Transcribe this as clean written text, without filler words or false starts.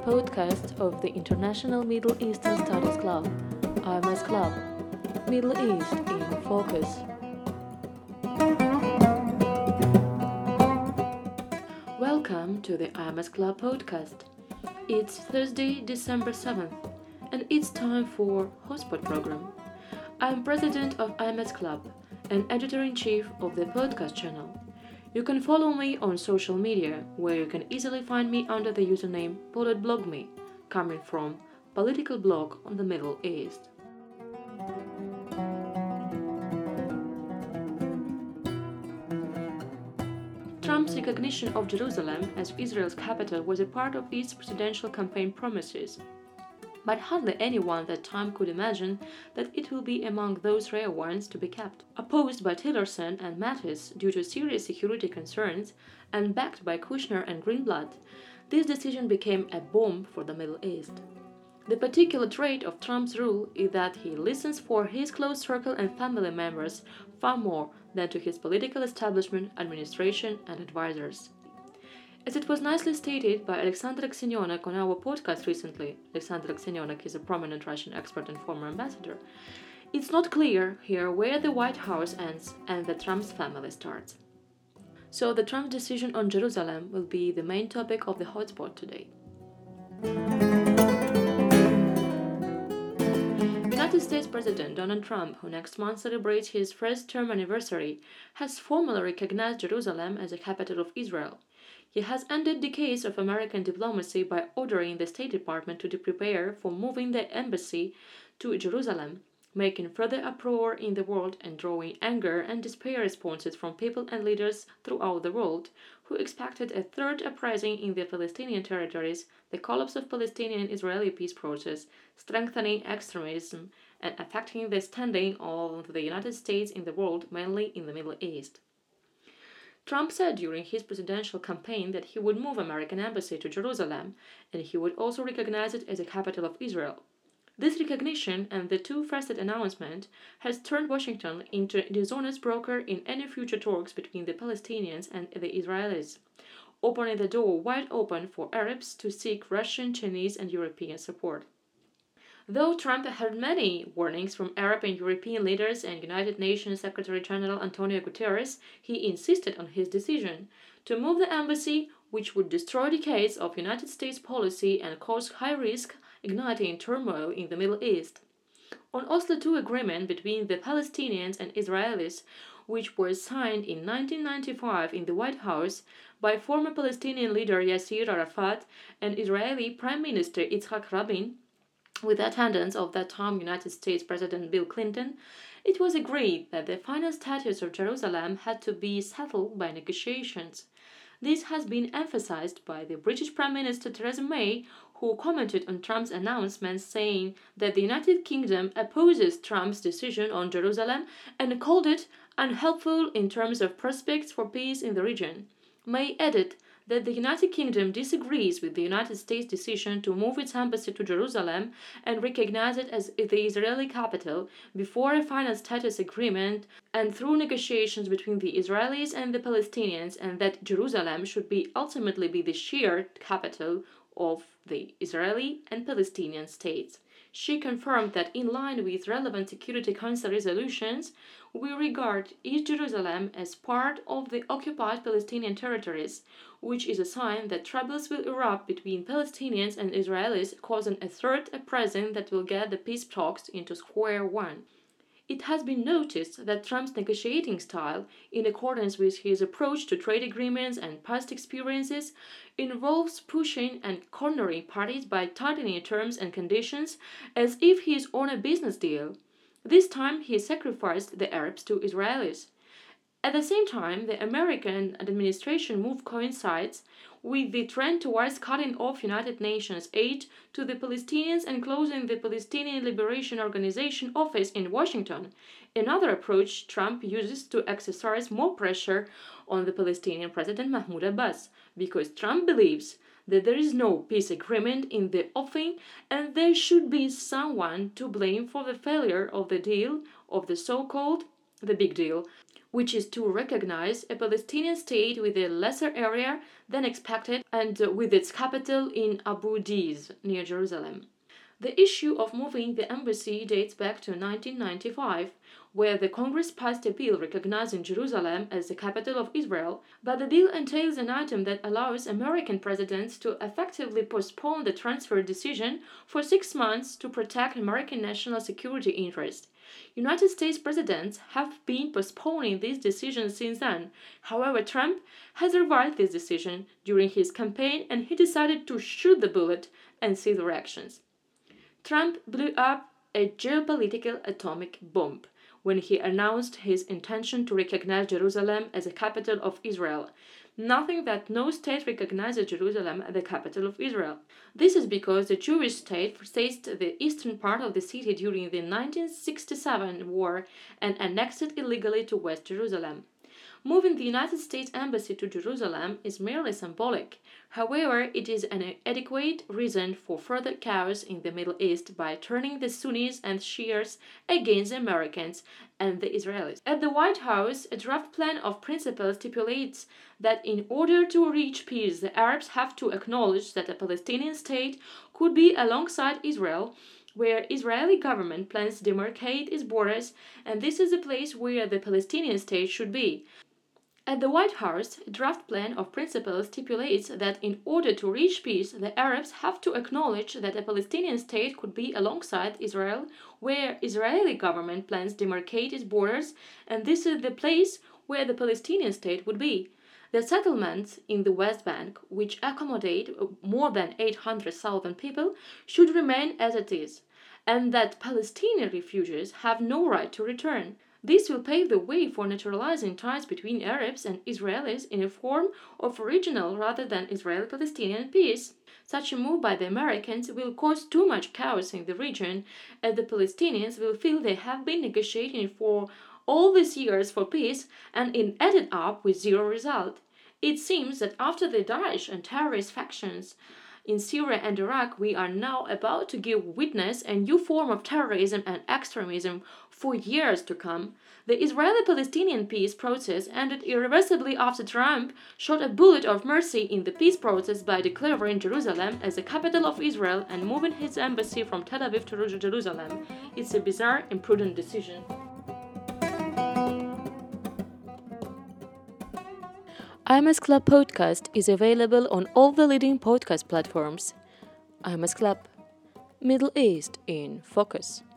podcast of the International Middle Eastern Studies Club, IMS Club, Middle East in Focus. Welcome to the IMS Club podcast. It's Thursday, December 7th, and it's time for Hotspot program. I'm president of IMS Club and editor-in-chief of the podcast channel. You can follow me on social media, where you can easily find me under the username PolitBlogMe, coming from Political Blog on the Middle East. Trump's recognition of Jerusalem as Israel's capital was a part of his presidential campaign promises. But hardly anyone at that time could imagine that it will be among those rare ones to be kept. Opposed by Tillerson and Mattis due to serious security concerns and backed by Kushner and Greenblatt, this decision became a bomb for the Middle East. The particular trait of Trump's rule is that he listens for his close circle and family members far more than to his political establishment, administration, and advisors. As it was nicely stated by Alexander Aksenionak on our podcast recently, Alexander Aksenionak is a prominent Russian expert and former ambassador, it's not clear here where the White House ends and the Trump's family starts. So the Trump decision on Jerusalem will be the main topic of the hotspot today. United States President Donald Trump, who next month celebrates his first-term anniversary, has formally recognized Jerusalem as the capital of Israel. He has ended decades of American diplomacy by ordering the State Department to prepare for moving the embassy to Jerusalem, making further uproar in the world and drawing anger and despair responses from people and leaders throughout the world who expected a third uprising in the Palestinian territories, the collapse of Palestinian-Israeli peace process, strengthening extremism, and affecting the standing of the United States in the world, mainly in the Middle East. Trump said during his presidential campaign that he would move American embassy to Jerusalem, and he would also recognize it as the capital of Israel. This recognition and the two-faceted announcement has turned Washington into a dishonest broker in any future talks between the Palestinians and the Israelis, opening the door wide open for Arabs to seek Russian, Chinese, and European support. Though Trump had many warnings from Arab and European leaders and United Nations Secretary-General Antonio Guterres, he insisted on his decision to move the embassy, which would destroy decades of United States policy and cause high risk, igniting turmoil in the Middle East. On Oslo II agreement between the Palestinians and Israelis, which was signed in 1995 in the White House by former Palestinian leader Yasser Arafat and Israeli Prime Minister Yitzhak Rabin, with the attendance of that time United States President Bill Clinton, it was agreed that the final status of Jerusalem had to be settled by negotiations. This has been emphasized by the British Prime Minister Theresa May, who commented on Trump's announcement saying that the United Kingdom opposes Trump's decision on Jerusalem and called it unhelpful in terms of prospects for peace in the region. May added that the United Kingdom disagrees with the United States' decision to move its embassy to Jerusalem and recognize it as the Israeli capital before a final status agreement and through negotiations between the Israelis and the Palestinians, and that Jerusalem should ultimately be the shared capital of the Israeli and Palestinian states. She confirmed that in line with relevant Security Council resolutions, we regard East Jerusalem as part of the occupied Palestinian territories, which is a sign that troubles will erupt between Palestinians and Israelis, causing a third uprising that will get the peace talks into square one. It has been noticed that Trump's negotiating style, in accordance with his approach to trade agreements and past experiences, involves pushing and cornering parties by tightening terms and conditions as if he is on a business deal. This time he sacrificed the Arabs to Israelis. At the same time, the American administration move coincides with the trend towards cutting off United Nations aid to the Palestinians and closing the Palestinian Liberation Organization office in Washington, another approach Trump uses to exercise more pressure on the Palestinian President Mahmoud Abbas, because Trump believes that there is no peace agreement in the offing and there should be someone to blame for the failure of the deal, of the so-called the big deal, which is to recognize a Palestinian state with a lesser area than expected and with its capital in Abu Dis, near Jerusalem. The issue of moving the embassy dates back to 1995, where the Congress passed a bill recognizing Jerusalem as the capital of Israel, but the bill entails an item that allows American presidents to effectively postpone the transfer decision for 6 months to protect American national security interests. United States presidents have been postponing these decisions since then. However, Trump has revised this decision during his campaign and he decided to shoot the bullet and see the reactions. Trump blew up a geopolitical atomic bomb when he announced his intention to recognize Jerusalem as a capital of Israel, noting that no state recognizes Jerusalem as the capital of Israel. This is because the Jewish state seized the eastern part of the city during the 1967 war and annexed it illegally to West Jerusalem. Moving the United States Embassy to Jerusalem is merely symbolic. However, it is an adequate reason for further chaos in the Middle East by turning the Sunnis and Shias against the Americans and the Israelis. At the White House, a draft plan of principle stipulates that in order to reach peace, the Arabs have to acknowledge that a Palestinian state could be alongside Israel, where Israeli government plans to demarcate its borders, and this is the place where the Palestinian state should be. At the White House, a draft plan of principle stipulates that in order to reach peace, the Arabs have to acknowledge that a Palestinian state could be alongside Israel, where Israeli government plans to demarcate its borders, and this is the place where the Palestinian state would be. The settlements in the West Bank, which accommodate more than 800,000 people, should remain as it is, and that Palestinian refugees have no right to return. This will pave the way for naturalizing ties between Arabs and Israelis in a form of regional rather than Israeli-Palestinian peace. Such a move by the Americans will cause too much chaos in the region, as the Palestinians will feel they have been negotiating for all these years for peace and it ended up with zero result. It seems that after the Daesh and terrorist factions in Syria and Iraq, we are now about to give witness a new form of terrorism and extremism for years to come. The Israeli-Palestinian peace process ended irreversibly after Trump shot a bullet of mercy in the peace process by declaring Jerusalem as the capital of Israel and moving his embassy from Tel Aviv to Jerusalem. It's a bizarre, imprudent decision. IMS Club podcast is available on all the leading podcast platforms. IMS Club, Middle East in Focus.